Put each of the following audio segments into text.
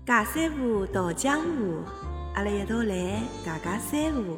尬三胡，道江湖，阿拉一道来尬三胡。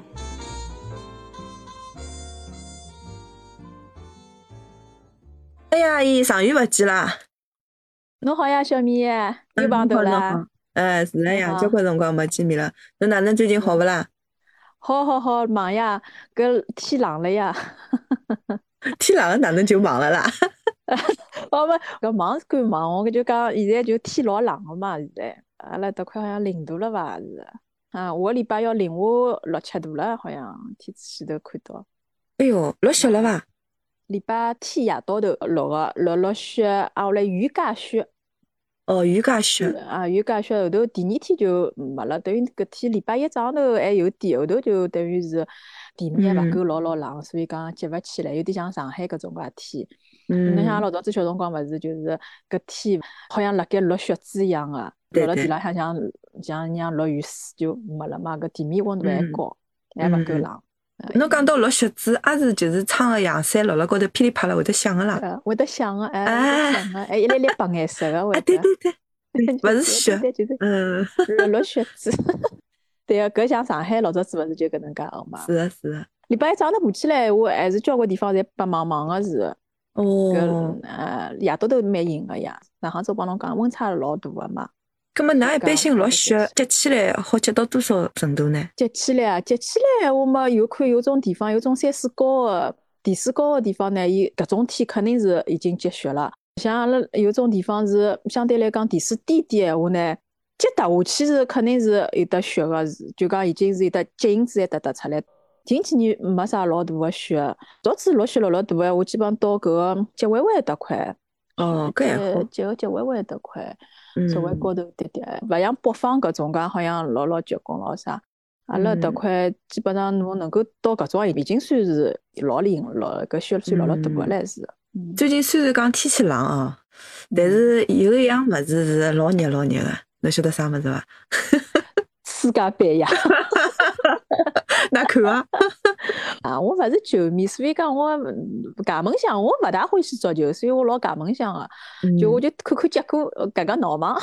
哎呀，伊长远勿见啦！ 侬好呀，小米，又碰头啦。 是的呀，交关辰光没见面了。侬哪能最近好勿啦？ 好，忙呀，搿天冷了呀。 天冷了哪能就忙了啦？ 搿忙是赶忙，我就讲现在就天老冷了嘛，现在阿拉搭块好像0度了伐？是啊，下个礼拜要零下6、7度了，好像天气头看到。 哎哟，落雪了伐？ 礼拜天夜到头落雪，啊，后来雨夹雪。 哦，雨夹雪。 雨夹雪后头第2天就没了，等于搿天礼拜1早上头还有点，后头就等于是地面还勿够老冷，所以讲接勿起来，有点像上海搿种介天。侬像老早子小辰光勿是就是搿天好像辣盖落雪珠一样个，落了地浪向像落雨水就没了嘛，搿地面温度还高，还勿够冷。 侬讲到落雪珠，也是就是撑个阳伞落辣高头噼里啪啦会得响个啦。 会得响个，还一粒粒白颜色个会得。 对，勿是雪， 落雪珠。对个，搿像上海老早子勿是就搿能介个嘛。 是的。 礼拜1早上头爬起来，我还是交关地方侪白茫茫个是。 哦。 夜到头蛮阴个呀。上趟子我帮侬讲，温差老大个嘛。 葛末㑚一般性落雪积起来好积到多少程度呢？ 积起来我嘛有看有种地方，有种山水高个地势高个地方呢，伊搿种天肯定是已经积雪了。像阿拉有种地方是相对来讲地势低点闲话呢，积踏下去是肯定是有得雪个，就讲已经是有得脚印子还踏出来。近几年没啥老大个雪，早子落雪老大个，我基本上到搿个吉湾湾搭块。 哦，搿还好。 吉湾湾搭块。稍微高头点点，勿像北方搿种介好像老结棍老啥。阿拉搭块基本上侬能够到搿种已经算是老灵搿雪算老大个唻是。 最近虽然讲天气冷哦，但是有一样物事是老热个，侬晓得啥物事伐？ 世界杯呀！ 哪看啊？ 我勿是球迷，所以讲我揩门相，我勿大欢喜足球，所以我老揩门相个。我就看看结果，搿闹忙。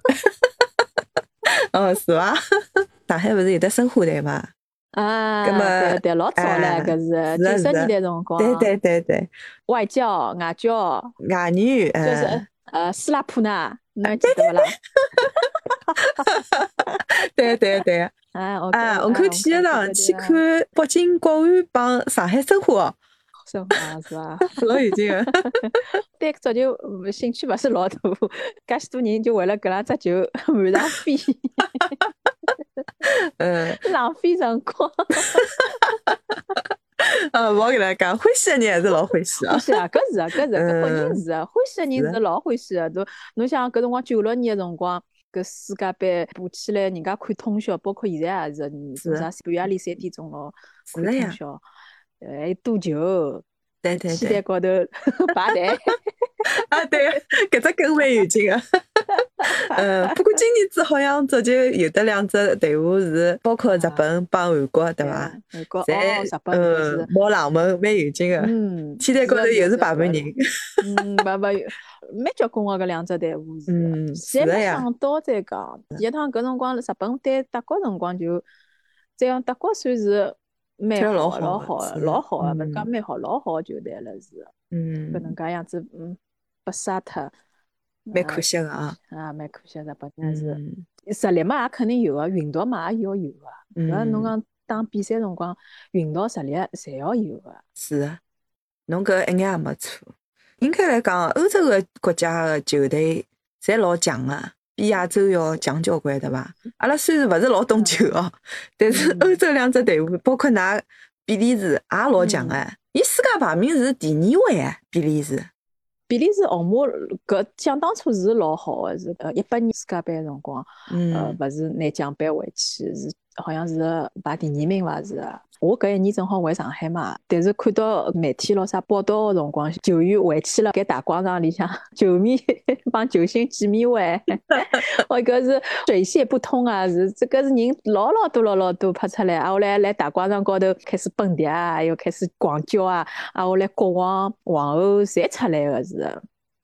哦，是伐？上海勿是有得申花队嘛？ 对，老早唻，搿是90年代辰光。 对。 外教、外教、 外女， 就是斯拉普纳，侬还记得勿啦？ 对。虹口体育场去看北京国安帮上海申花。 申花是伐？ 老有劲个。 对足球兴趣勿是老大，介许多人就为了搿两只球满场飞。浪费辰光。 勿好跟他讲，欢喜的人还是老欢喜啊。 欢喜啊，搿肯定是啊，欢喜的人是老欢喜的。侬想搿辰光96年的辰光，搿世界杯爬起来，人家看通宵，包括现在也是，啥半夜里3点钟咯，看通宵，还有赌球， 对， 期待高头排队。 对，搿只梗蛮有劲个。不过今年子好像足球有得2只队伍是包括日本帮韩国，对伐？ 韩国日本是冒冷门，蛮有劲个。天台高头又是排排人。 蛮结棍个搿2只队伍是。现在没想到再讲，第一趟搿辰光日本对德国辰光就，这样德国算是蛮好，老好个，勿是讲蛮好，老好个球队了是。搿能介样子，被杀脱。 蛮可惜个啊！ 蛮可惜，日本但是实力嘛也肯定有个，运道嘛也要有个。搿侬讲打比赛辰光，运道实力侪要有个。 是个，侬搿一眼也没错。应该来讲，欧洲个国家个球队侪老强个，比亚洲要强交关，对伐？阿拉虽然勿是老懂球哦，但是欧洲2只队伍，包括㑚比利时也老强个。伊世界排名是第2位啊，比利时。 比利时红马搿想当初是老好个，是18年世界杯个辰光，勿是拿奖杯回去，是好像是排第2名伐是。我搿1年正好回上海嘛，但是看到媒体咯啥报道个辰光，球员回去了，搿大广场里向球迷帮球星见面会，搿是水泄不通啊！是这个是人老多拍出来，后来来大广场高头开始蹦迪啊，又开始狂叫啊，后来国王皇后侪出来个是。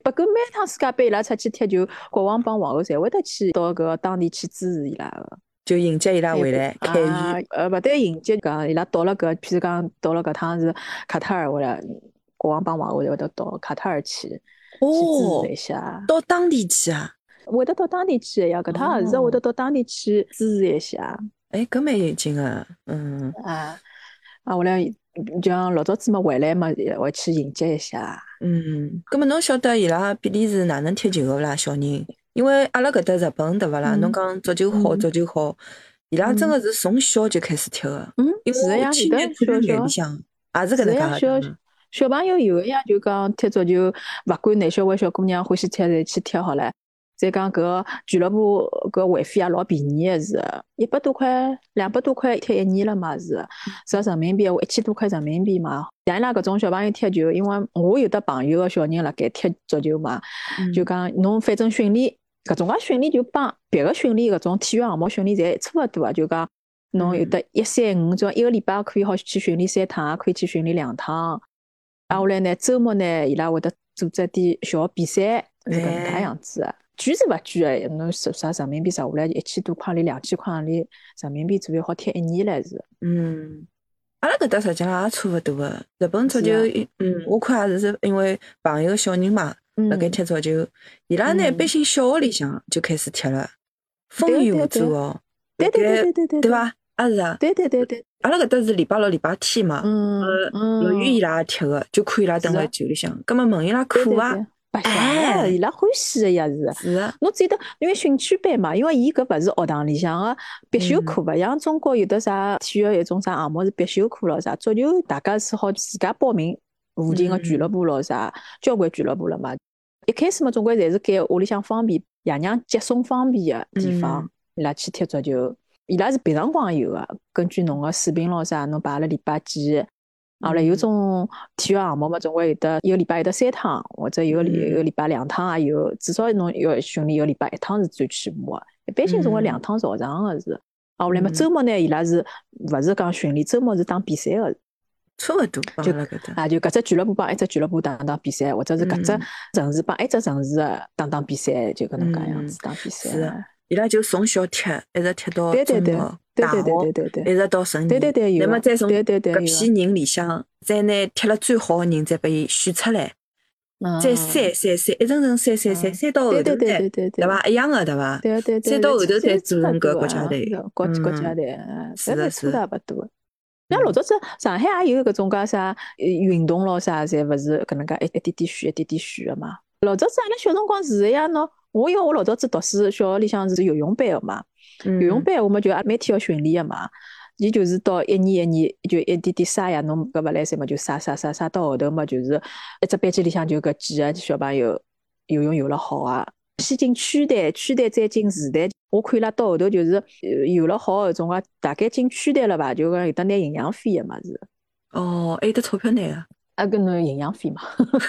不过每趟世界杯伊拉出去踢球，国王帮皇后侪会得去到搿当地去支持伊拉个。 就迎接伊拉回来开园。 勿对，迎接讲伊拉到了搿，譬如讲到了搿趟是卡塔尔，为了国王帮皇后会得到卡塔尔去支持一下。 到当地去啊？ 会得到当地去呀，搿趟也是会得到当地去支持一下。 搿蛮有劲个， 后来就像老早子嘛回来嘛，会去迎接一下。 搿么侬晓得伊拉比利时哪能踢球个勿啦，小人？因为阿拉搿搭日本对勿啦？侬讲足球好，伊拉真个是从小就开始踢个。因为我去年看眼里向也是搿能介。 小朋友有个呀，就讲踢足球，勿管男小孩小姑娘欢喜踢，侪去踢好了。再讲搿俱乐部搿会费也老便宜个是，100多块、200多块踢1年了嘛是，折人民币1000多块人民币嘛。像伊拉搿种小朋友踢球，因为我有的朋友个小人辣盖踢足球嘛，就讲侬反正训练搿种个训练就帮别个训练搿种体育项目训练侪差勿多啊，就讲侬有的135，就一个礼拜可以好去训练3趟，也可以去训练2趟。后来呢，周末呢，伊拉会得组织点小比赛，是搿能介样子个。贵是勿贵个，侬啥人民币折下来1000多块钿、2000块钿人民币左右，好踢1年了是。 阿拉搿搭实际上也差勿多个。日本足球，我看也是因为朋友小人嘛，辣盖踢足球，伊拉呢一般性小学里向就开始踢了，风雨无阻哦。 对， 对伐？也是啊。 对。 阿拉搿搭是礼拜六、礼拜天嘛，乐于伊拉踢个，就看伊拉蹲辣球里向。葛末问伊拉课啊？ 白相伊拉欢喜个呀是啊， 侬只得因为兴趣班嘛，因为伊搿勿是学堂里向个必修课，勿像中国有的啥体育一种啥项目是必修课咯啥，足球大家是好自家报名附近个俱乐部咯啥，交关俱乐部了嘛。一开始嘛，总归侪是拣屋里向方便、爷娘接送方便个地方，伊拉去踢足球。伊拉是平常光有个，根据侬个水平咯啥，侬排了礼拜几。后来有种体育项目嘛，总归有的一个礼拜有得3趟，或者一个礼拜2趟也有，至少侬要训练一个礼拜1趟是最起码个，一般性总归2趟朝上个是。后来嘛，周末呢，伊拉是勿是讲训练，周末是打比赛个， 差勿多。 就搿只俱乐部帮一只俱乐部打比赛，或者是搿只城市帮一只城市打比赛，就搿能介样子打比赛。 是，伊拉就从小踢，一直踢到中学、大学，一直到成年。 对。 那么再从搿批人里向，再拿踢了最好个人，再拨伊选出来，再筛，一层层筛到后头再，对伐？一样个对伐？ 对。 再到后头再组成搿国家队。 国家队， 是的。 差勿多。像老早子上海也有搿种介啥运动咯啥，侪勿是搿能介一点点选个嘛。老早子阿拉小辰光是个呀，喏，我老早子读书，小学里向是游泳班个嘛。游泳班我们就每天要训练个嘛。伊就是到一年就一点点撒呀，侬搿勿来三嘛就撒到后头嘛，就是一只班级里向就搿几个小朋友游泳游了好啊。先进区队再进市队，我看伊拉到后头就是游了好搿种个，大概进区队了吧，就讲有得拿营养费个嘛是。 还有得钞票拿个？ 搿侬营养费嘛。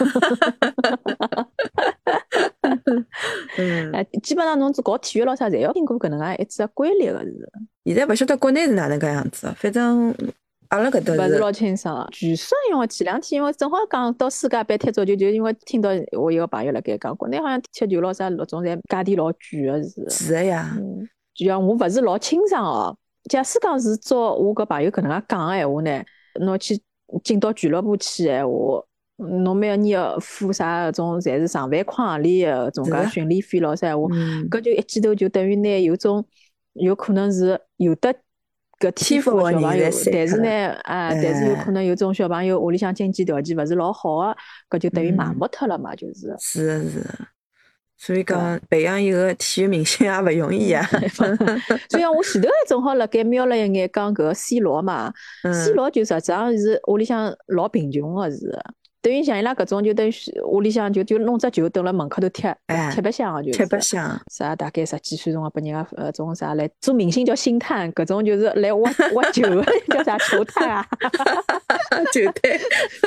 基本上侬搞体育咯啥，侪要经过搿能介一只规律个是。 现在勿晓得国内是哪能介样子，反正阿拉搿搭勿是老清爽。据说因为前2天因为正好讲到世界杯踢足球，就因为听到我一个朋友辣盖讲，国内好像踢球咯啥搿种侪价钿老贵个是。 是个呀。 就像我勿是老清爽哦。假使讲是照我搿朋友搿能介讲个闲话呢，侬去进到俱乐部去闲话，侬每个年要付啥搿种，侪是上万块行钿个搿种介训练费咯啥闲话，搿就一记头就等于拿有可能是有的搿天赋个小朋友，但是呢，但是有可能有种小朋友屋里向经济条件勿是老好个，搿就等于埋没脱了嘛，就是。 是。所以讲培养一个体育明星也勿容易啊。 所以讲我前头还正好辣盖瞄了一眼讲搿个 C 罗嘛，C 罗就实际上是屋里向老贫穷个是。等于像伊拉搿种就等于屋里向就弄只球蹲辣门口头踢白相个，就是踢白相啥大概10几岁钟个拨人家种啥来做明星叫星探，搿种就是来挖球个叫啥球探啊。 球探。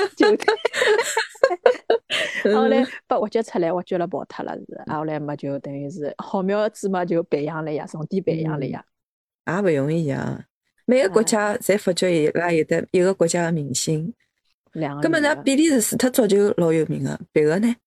后来被挖掘出来，挖掘了跑脱了是。后来嘛就等于是好苗子嘛就培养了呀，重点培养了呀。 也勿容易啊，每个国家侪发觉伊拉有得一个国家个明星。 2个。 根本呢，比利时除脱足球老有名个，别个呢？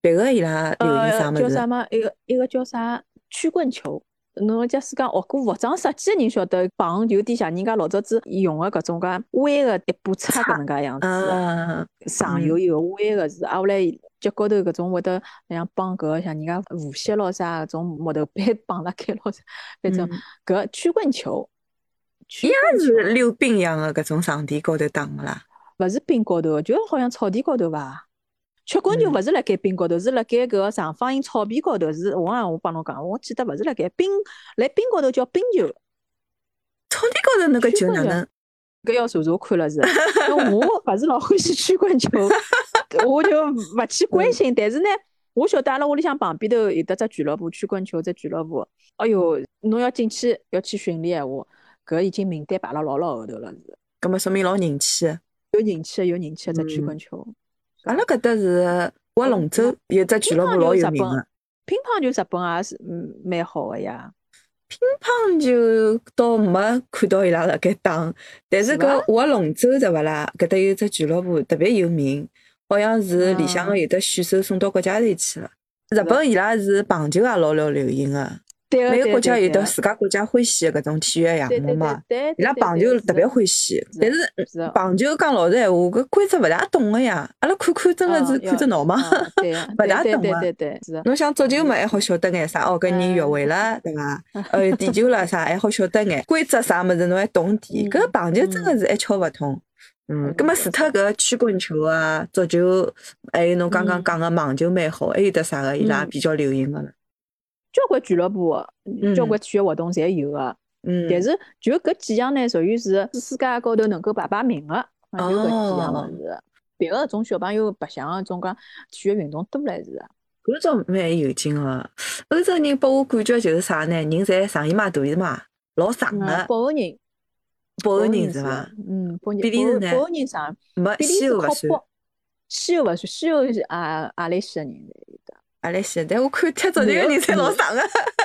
别个伊拉流行啥物事？ 叫啥嘛？一个叫啥曲棍球。侬假使讲学过服装设计的人晓得，棒有点像人家老早子用的搿种介弯的一把叉搿能介样子，上有一个弯个是，后来脚高头搿种会得像绑搿像人家护膝咯啥搿种木头板绑辣盖咯啥，反正搿曲棍球， 伊也是溜冰一样的搿种场地高头打个啦， 勿是冰高头，就好像草地高头伐？曲棍球勿是辣盖冰高头，是辣盖搿个长方形草皮高头。是我帮侬讲，我记得勿是辣盖冰高头叫冰球。 草地高头那个球哪能？ 搿要查查看了是。我勿是老欢喜曲棍球，我就勿去关心。但是呢，我晓得阿拉屋里向旁边头有得只俱乐部，曲棍球只俱乐部。哎哟，侬要进去要去训练闲话，搿已经名单排了老后头了是。 搿么说明老人气。 有人气的只曲棍球。 阿拉搿搭是划龙舟，有只俱乐部老有名个。 乒乓球日本也是蛮好个呀。 乒乓球倒没看到伊拉辣盖打，但是搿划龙舟对勿啦？搿搭有只俱乐部特别有名，好像是里向个有的选手送到国家队去了。日本伊拉是棒球也老流行个。每个国家有的自家国家欢喜的搿种体育项目嘛，伊拉棒球特别欢喜。但是棒球讲老实闲话，搿规则勿大懂个呀，阿拉看真个是看着闹嘛，勿大懂个。侬像足球嘛，还好晓得眼啥，搿人越位了，对伐？点球了啥，还好晓得眼规则啥物事，侬还懂点。搿棒球真个是一窍勿通。葛末除脱搿曲棍球啊、足球，还有侬刚刚讲个网球蛮好，还有得啥个伊拉比较流行个了？ 交关俱乐部，交关体育活动侪有个，但是就搿几样呢，属于是世界高头能够排名个，就搿几样物事。别个种小朋友白相个种讲体育运动多唻是。 搿种蛮有劲个。欧洲人拨我感觉就是啥呢？人侪上衣嘛大衣嘛，老长个。 北欧人是伐？ 比利时呢？ 北欧人长， 没西欧勿算。 西欧勿算，西欧是阿拉西个人有的。 阿拉西，但我看踢足球个人侪老长个。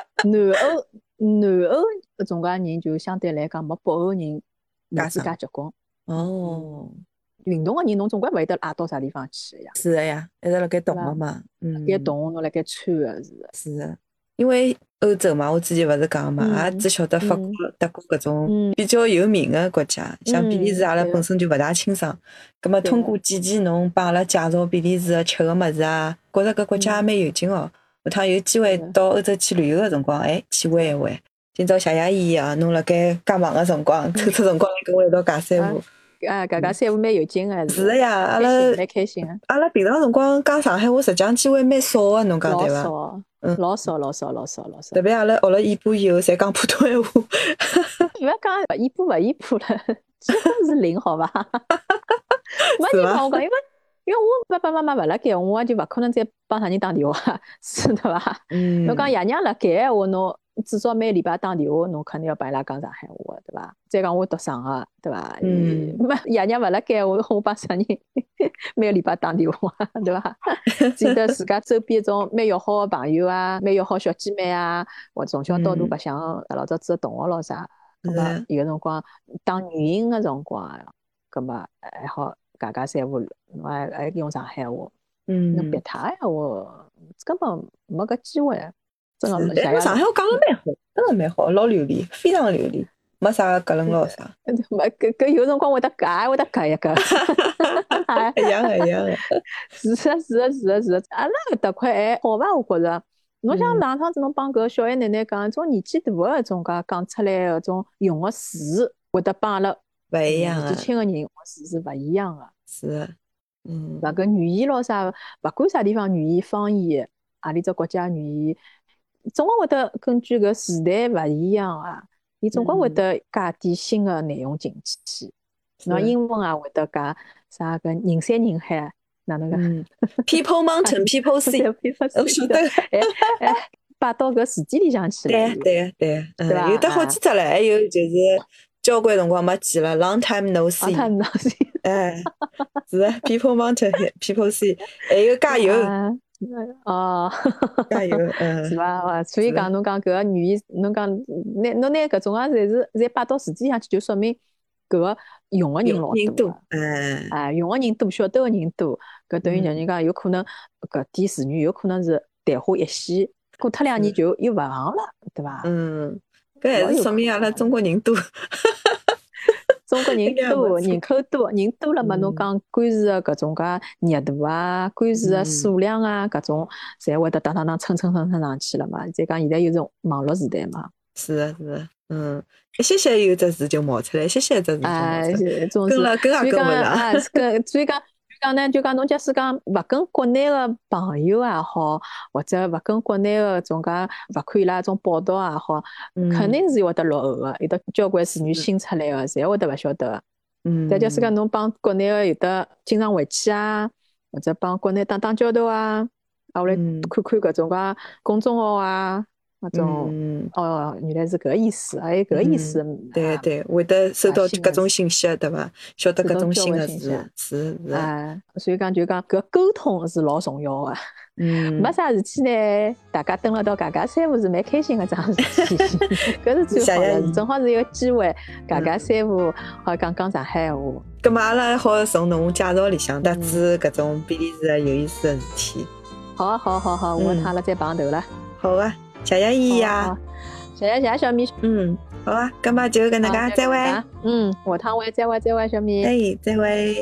南欧搿种介人就相对来讲没北欧人年纪介结棍。 哦。 运动个人侬总归勿会得拉到啥地方去呀。 是个呀，一直辣盖动个嘛。 辣盖动，侬辣盖穿个是。 是个，因为欧洲嘛，我之前勿是讲嘛，也只晓得法国、德国搿种比较有名个国家，像比利时阿拉本身就勿大清爽。葛末通过几期侬帮阿拉介绍比利时个吃个物事啊，觉着搿国家也蛮有劲哦。下趟有机会到欧洲去旅游个辰光，去玩一玩。今朝谢谢伊啊，侬辣盖介忙个辰光，抽出辰光来跟我一道尬三胡。 尬三胡蛮有劲个。 是个呀，阿拉蛮开心个。 阿拉平常辰光讲上海话，实际上机会蛮少个，侬讲对伐？ 老少。 特别阿拉学了尾巴以后，侪讲普通闲话。 勿要讲尾巴了，几乎是零，好伐？没人帮我讲，因为我爸爸妈妈勿辣盖，我就勿可能再帮啥人打电话，是对伐？侬讲爷娘辣盖闲话，侬至少每礼拜打电话，侬肯定要帮伊拉讲上海话，对伐？再讲我读上个，对伐？爷娘勿辣盖，我帮啥人每个礼拜打电话，对伐？记得自家周边种蛮要好个朋友啊，蛮要好小姐妹啊，我从小到大白相老早子个同学咯啥，咁么有个辰光打语音个辰光，咁么还好尬三胡，侬还用上海话，侬别他闲话根本没搿机会。真个， 上海话讲了蛮好，真个蛮好，老流利，非常流利，没啥格楞咯啥。 没搿有辰光会得夹一个。 一样个。 是个。阿拉搿搭块还好伐？我觉着。侬像上趟子侬帮搿小爷奶奶讲，种年纪大个搿种讲出来搿种用个词，会得帮阿拉勿一样个。 年纪轻个人用个词是勿一样个。 是。 搿语言咯啥，勿管啥地方语言方言，何里只国家语言。总归会得根据搿时代勿一样啊，伊总归会得加点新个内容进去。侬英文也会得加啥个人山人海，哪能个 ？People mountain, people sea， 我晓得。 摆到搿字典里向去了。 对，有得好几只唻，还有就是交关辰光没见了 ，Long time no see。是 People mountain, people sea， 还有加油。加油， 是伐？所以讲侬讲搿个语言，侬讲侬拿搿种侪摆到字典上去，就说明搿个用个人老多个，用个人多，晓得个人多，搿等于像人讲有可能搿点词语有可能是昙花一现，过脱2年就又勿行了，对伐？ 搿还是说明阿拉中国人多。 中国人多，人口多，人多了嘛，侬讲官司个搿种介热度啊，官司个数量啊，搿种侪会得蹭上去了嘛。再讲现在又是网络时代嘛。 是个，一歇歇有只字就冒出来，一歇歇只字就冒出来，跟了跟也跟勿上。 所以讲侬假使讲勿跟国内个朋友也好，或者勿跟国内个种介勿看伊拉种报道也好，肯定是会得落后个，有得交关词语新出来个，侪会得勿晓得个。再假使讲侬帮国内个有得经常回去啊，或者帮国内打交道啊，下来看看搿种介公众号啊。那种原来是搿意思，还有搿意思。 对，会得收到各种信息，对伐？晓得各种新的事，是。 所以讲就讲搿沟通是老重要个。没啥事体呢，大家蹲辣到家三胡是蛮开心个桩事体，搿是最好的，正好是一个机会，家三胡好讲上海话。 葛末阿拉好从侬介绍里向得知搿种比利时有意思的事体。 好，我趟了再碰头了。 好啊。谢谢依依啊， 谢谢小米。 好啊，咁么就搿能介，再会。 下趟会再会，小米。 哎，再会。